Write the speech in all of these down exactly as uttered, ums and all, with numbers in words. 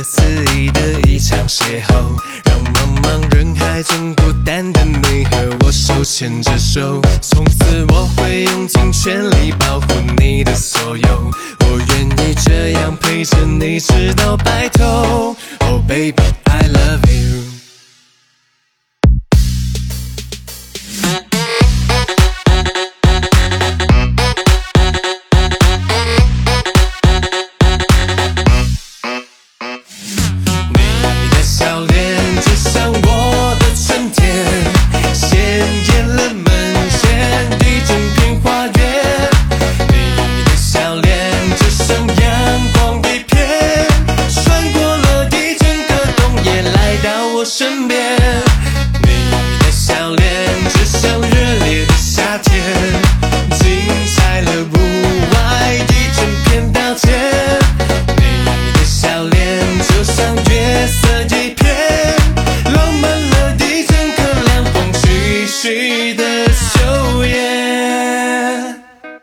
思议的一场邂逅，让茫茫人海中孤单的你和我手牵着手。从此我会用尽全力保护你的所有，我愿意这样陪着你直到白头。Oh baby, I love you。身边，你的笑脸就像热烈的夏天，精彩了屋外一整片稻田。你的笑脸就像月色一片，浪漫了一整个凉风徐徐的秋叶。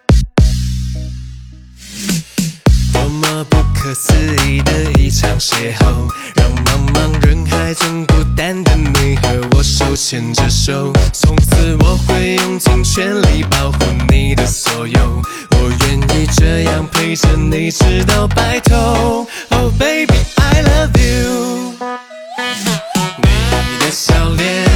多么不可思议的一场邂逅，让茫茫人海中孤单的你和我手牵着手。从此我会用尽全力保护你的所有，我愿意这样陪着你直到白头。Oh baby, I love you。你的笑脸